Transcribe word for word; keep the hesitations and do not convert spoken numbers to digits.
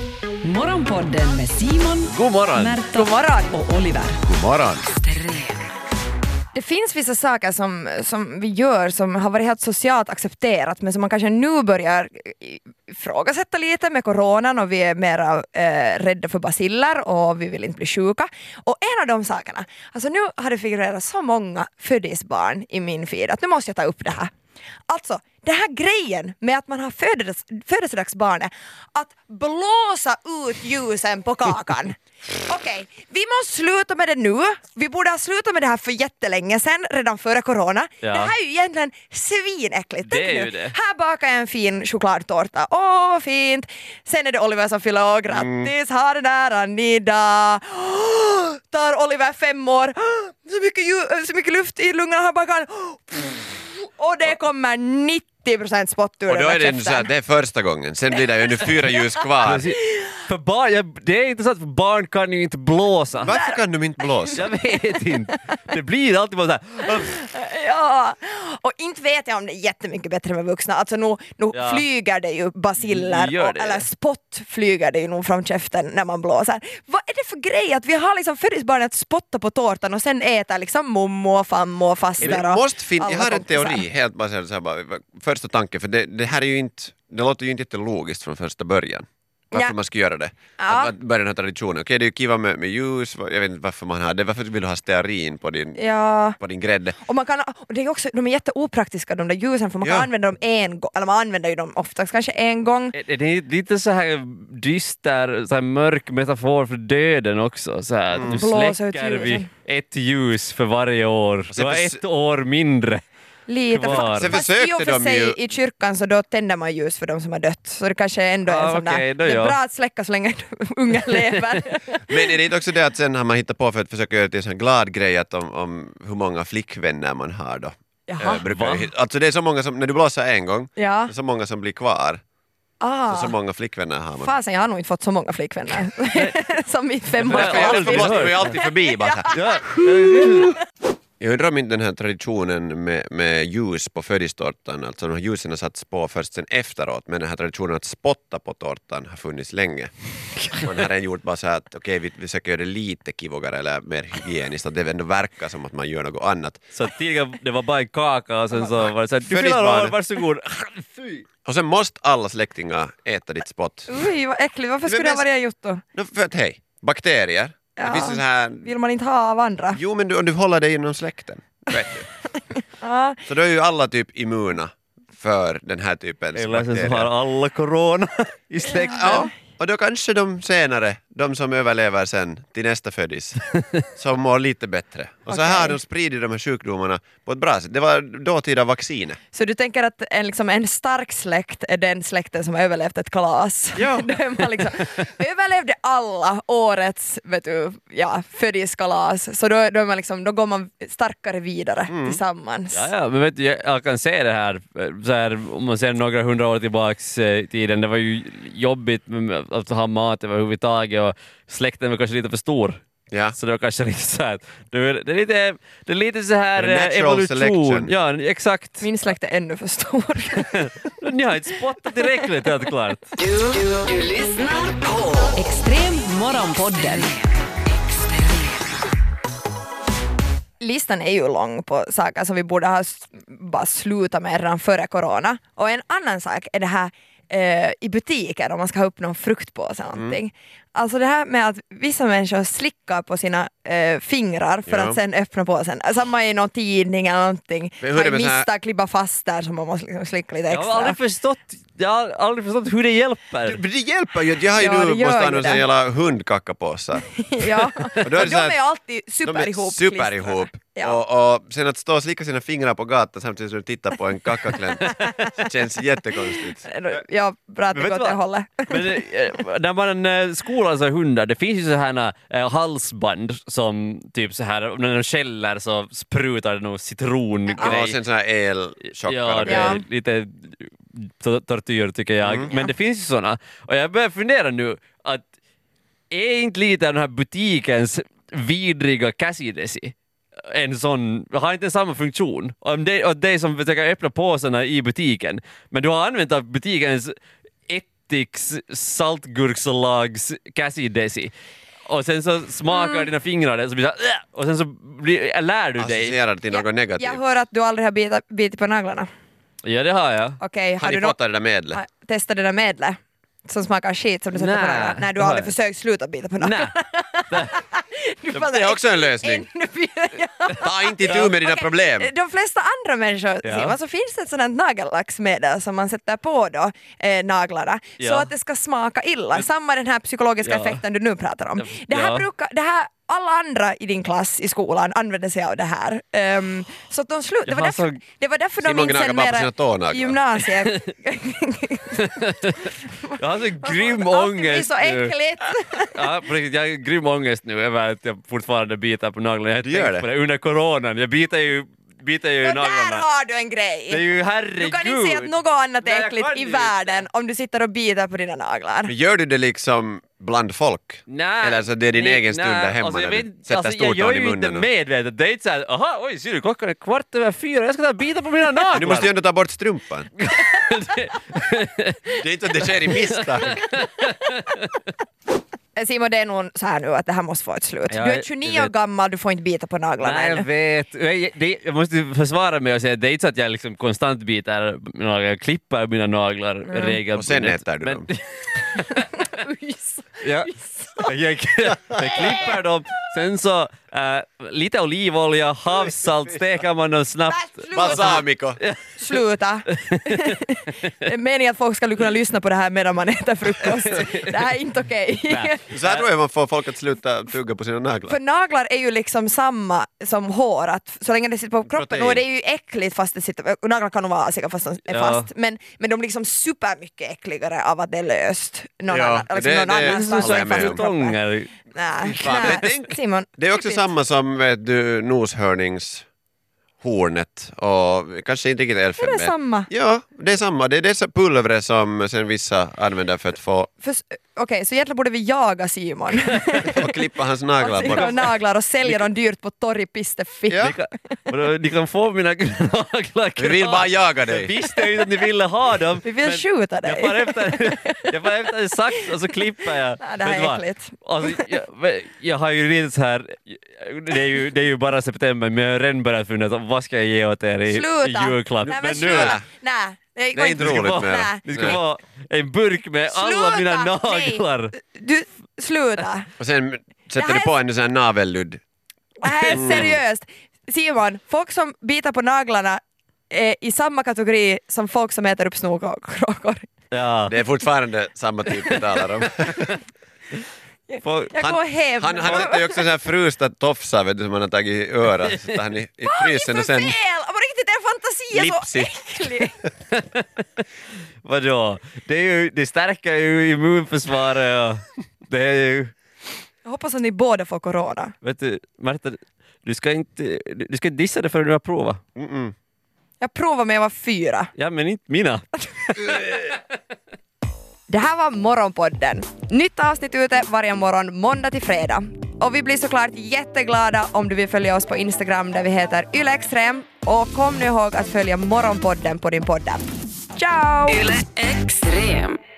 Morgonpodden med Simon, God morgon. Märta God morgon. och Oliver. God morgon. Det finns vissa saker som, som vi gör som har varit helt socialt accepterat men som man kanske nu börjar ifrågasätta lite med coronan och vi är mera eh, rädda för baciller och vi vill inte bli sjuka. Och en av de sakerna, alltså nu har det figurerat så många födisbarn i min feed att nu måste jag ta upp det här. Alltså, den här grejen med att man har födels- födelsedagsbarnet att blåsa ut ljusen på kakan. Okej, okay, vi måste sluta med det nu. Vi borde ha slutat med det här för jättelänge sedan, redan före corona. Ja. Det här är ju egentligen svinäckligt. Det Tänk är nu, ju det. här bakar jag en fin chokladtårta. Åh, vad fint. Sen är det Oliver som fyller år. Grattis, Mm. ha det där Anida. Oh, tar Oliver fem år. Oh, så, mycket ju- så mycket luft i lungorna här bakom. Och det kommer nittio procent spott ur Och då den är där det så käften. att det är första gången. Sen blir det ju nu fyra ljus kvar. För barn, jag, det är inte så att barn kan ju inte blåsa. Varför kan de inte blåsa? Jag vet inte. Det blir alltid bara så här. Ja, och inte vet jag om det är jättemycket bättre med vuxna. Alltså nu, nu Ja. flyger det ju basiller Gör och, det. eller spott flyger det ju nog från käften när man blåser. Vad är det för grej att vi har liksom födelsebarnet att spotta på tårtan och sen äter liksom mommo och fammo och faster Men och måste fin- jag alla har en kompisar. teori, helt baserad så här bara, första tanken, för det, det här är ju inte, det låter ju inte jättelogiskt från första början. Varför Ja. man ska göra det. Ja. Att, att börja den här traditionen. Okej, det är ju kiva med, med ljus, jag vet inte varför man har det. Varför vill du ha stearin på din, Ja. på din grädde? Och man kan, och det är också, de är jätteopraktiska de där ljusen för man kan Ja. använda dem en gång, eller man använder ju dem oftast kanske en gång. Det är lite så här dyster, så här mörk metafor för döden också. Så här, att du Blåsa ut släcker ljusen. vid ett ljus för varje år. sen Du har förs- ett år mindre. Lite. Kvar. Sen Fast i försökte och för de sig ju- i kyrkan så då tänder man ljus för de som har dött. Så det kanske ändå är Ah, en sån okej, där, då det är ja. bra att släcka så länge ungen lever. Men är det inte också det att sen har man hittat på för att försöka göra det till en sån här glad grej att om, om hur många flickvänner man har då? Jaha. Eh, brukar Va? ju hit- alltså det är så många som, när du blåser en gång, Ja. det är så många som blir kvar. Ah. Så, så många flickvänner har man. Fasen, jag har nog inte fått så många flickvänner som i fem Men år. jag har aldrig Därför måste hört. vi ju alltid förbi bara så här. Ja. Jag undrar om inte den här traditionen med, med ljus på födelsetårtan, alltså de här ljusen har satts på först sen efteråt, men den här traditionen att spotta på tårtan har funnits länge. Man har redan gjort bara så här att okej, vi, vi försöker göra det lite kivogare eller mer hygieniskt, att det ändå verkar som att man gör något annat. Så tidigare det var bara en kaka och sen så var det så här, du fyller Födelsebarn. år, varsågod. Fy. Och sen måste alla släktingar äta ditt spott. Oj, vad äckligt. Varför skulle Men det vara gjort då? No, för att hej, bakterier. Ja. Det finns ju så här... Vill man inte ha av andra? Jo, men du, om du håller dig inom släkten, vet du. Ja. Så då är ju alla typ immuna för den här typens Eller sen så bakterier. har alla corona i släkten. Ja, och då kanske de senare, de som överlever sen till nästa födis, som mår lite bättre. Och så Okej. här har de spridit de här sjukdomarna på ett bra sätt. Det var dåtida vacciner. Så du tänker att en, liksom, en stark släkt är den släkten som har överlevt ett kalas? Ja. Då är man liksom, överlevde alla årets vet du, ja, födiskalas, så då, då, är man liksom, då går man starkare vidare tillsammans. Ja, ja, men vet du, jag, jag kan se det här, så här, om man ser några hundra år tillbaks eh, i tiden, det var ju jobbigt med att ha mat överhuvudtaget och släkten var kanske lite för stor. Ja. Så det var kanske lite så här, det är, det är lite, det är lite så här The eh, natural evolution. selection. Ja, exakt. Min släkt är ännu för stor. Ni har inte spottat tillräckligt, helt klart. Du, du, du lyssnar på Extrem Morgonpodden. Listan är ju lång på saker som vi borde ha s- bara slutat med redan före corona. Och en annan sak är det här eh, i butiker om man ska ha upp någon fruktpåse eller någonting. Alltså det här med att vissa människor slickar på sina eh, fingrar för Ja. att sen öppna påsen. Samma i någon tidning eller någonting. Men hur är det Man med så här- misstag klippa fast där så man måste liksom slicka lite Jag extra. har aldrig förstått, jag har aldrig förstått hur det hjälper. Men det hjälper ju, jag har ju Ja, det nu gör måste ju använda det. en jävla hundkackapåsar. Ja. Och då är det Och så de här- är ju alltid De super är ihop. super ihop. Ja. Och, och sen att stå och slicka sina fingrar på gatan samtidigt som du tittar på en kakaklent känns jättekonstigt. Ja, bra att det Men går vet åt du det vad? hållet. Men eh, när man eh, skolar så här hundar, det finns ju så här eh, halsband som typ så här, när de skäller så sprutar det någon citrongrej. Ja, och sen såna här elchockar Ja, och det grejer. är lite to- tortyr tycker jag. Mm. Men det finns ju såna. Och jag börjar fundera nu att är inte lite av den här butikens vidriga Cassidesi en sån, har inte samma funktion. Om det, och det som försöker öppna påsarna i butiken, men du har använt av butikens Lipsticks saltgurksalags käsidesi. Och sen så smakar mm. dina fingrar det så blir det så här, och sen så blir, lär du dig. Associerar till något jag, negativt. jag hör att du aldrig har bitit, bitit på naglarna. Ja, det har jag. Okej, Har har ni du fått no- det där medlet? ha- testat det där medlet som smakar skit som du sätter Nä, på naglarna? Nej, du det har har aldrig jag. försökt sluta bita på naglarna. Nej. Du bara, Det är också en lösning. ännu mer- Ta inte itu med dina Okej, problem. De flesta andra människor, Ja. Simon, så finns det ett sådant nagellacksmedel som man sätter på då, eh, naglarna så Ja. att det ska smaka illa. Samma den här psykologiska Ja. effekten du nu pratar om. Det här Ja. brukar, det här, alla andra i din klass i skolan använder sig av det här. Um, så att de slut, det, var Jaha, därför, så- det var därför de Simon inte gnagar sen bara på mera sina tånaglar. i gymnasiet. Jag har så grym Allt blir ångest så nu. äckligt. Ja, på riktigt, jag har grym ångest nu över att jag fortfarande biter på naglarna. Jag har Du gör tänkt det? på det under coronan. Jag biter ju, biter ju i Och där naglarna. har du en grej. Det är ju herregud. Du kan inte säga att något annat Nej, är jag äckligt kan i ju världen om du sitter och biter på dina naglar. Men gör du det liksom bland folk? Nej, Eller så det är din nej, egen stund nej, där hemma alltså, jag när vet du inte, sätter alltså, stortån jag gör i ju inte munnen. och- medvetet. Det är inte såhär, aha, oj, ser du, klockan är kvart över fyra, jag ska ta och bita på mina naglar. Du måste ju ändå ta bort strumpan. Det är inte att det sker i misstag. Simon, det är nog så här nu att det här måste få ett slut. Ja, du är jag tjugonio år vet. gammal, du får inte bita på naglarna Nej, jag än. vet. Jag, det, jag måste försvara mig och säga att det är inte så att jag liksom konstant biter mina naglar. Jag klipper mina naglar regelbundet. Och sen äter du dem. Ja, jag, jag, jag klipper dem, sen så äh, lite olivolja, havssalt, steker man dem snabbt. Sluta! Balsamico. Sluta! Det är meningen att folk ska kunna lyssna på det här medan man äter frukost. Det här är inte okej. Nej. Så här tror jag man får folk att sluta tugga på sina naglar. För naglar är ju liksom samma som hår, att så länge det sitter på kroppen, Protein. och det är ju äckligt fast det sitter, och naglar kan nog vara asiga fast de är Ja. fast, men, men de blir liksom supermycket äckligare av att det är löst någon Ja, annan, liksom det- någon det annanstans håller jag än med fast i om. kroppen. Tångar. Nej, Fan, men nej. tänk- Simon, Det är också typiskt. samma som vet du, noshörningshornet och kanske inte riktigt Är det elfenben. samma? Ja, det är samma. Det är det pulvret som sen vissa använder för att få För- Okej, så egentligen borde vi jaga Simon. och klippa hans naglar på och dem. naglar och sälja dem dyrt på torg Pisteffi. Ja. Ni kan, vadå, ni kan få mina naglar. Vi vill bara jaga Jag dig. visste ju inte att ni ville ha dem. Vi vill men skjuta Jag dig. får efter, jag får efter en sax och så klipper jag. Nej, det här Vet du är vad? äckligt. Alltså, jag, jag har ju redan så här, det är ju, det är ju bara september, men jag har redan börjat fundera på vad ska jag ge åt er i, i Sluta! julklapp. Nej, men nu, sluta! Nej, det Det går är inte inte. roligt få- med Nej. ni ska det. få en burk med alla Sluta! mina Nej. naglar. Du, sluta! Och sen Det sätter här du är- på en sån här navelludd. Det här är seriöst. Simon, folk som biter på naglarna är i samma kategori som folk som äter upp snorkråkor. Ja. Det är fortfarande samma typ vi talar om. Får- Jag går hem. Han, han sätter ju också så här frusta tofsar vet du, som han har tagit i örat. Så tar han i, i frysen och För sen fel! På riktigt, er fantasi är så Lipsi. äcklig. Vadå? Det, är ju, det stärker ju immunförsvaret och det är ju... Jag hoppas att ni båda får corona. Vet du, Marta, du ska inte, du ska inte dissa det förrän du har provat. Mm-mm. Jag provade med jag var fyra. Ja, men inte mina. Det här var Morgonpodden. Nytt avsnitt ute varje morgon måndag till fredag. Och vi blir såklart jätteglada om du vill följa oss på Instagram där vi heter ylextrem. Och kom nu ihåg att följa Morgonpodden på din podd. Ciao! Yle Extrem.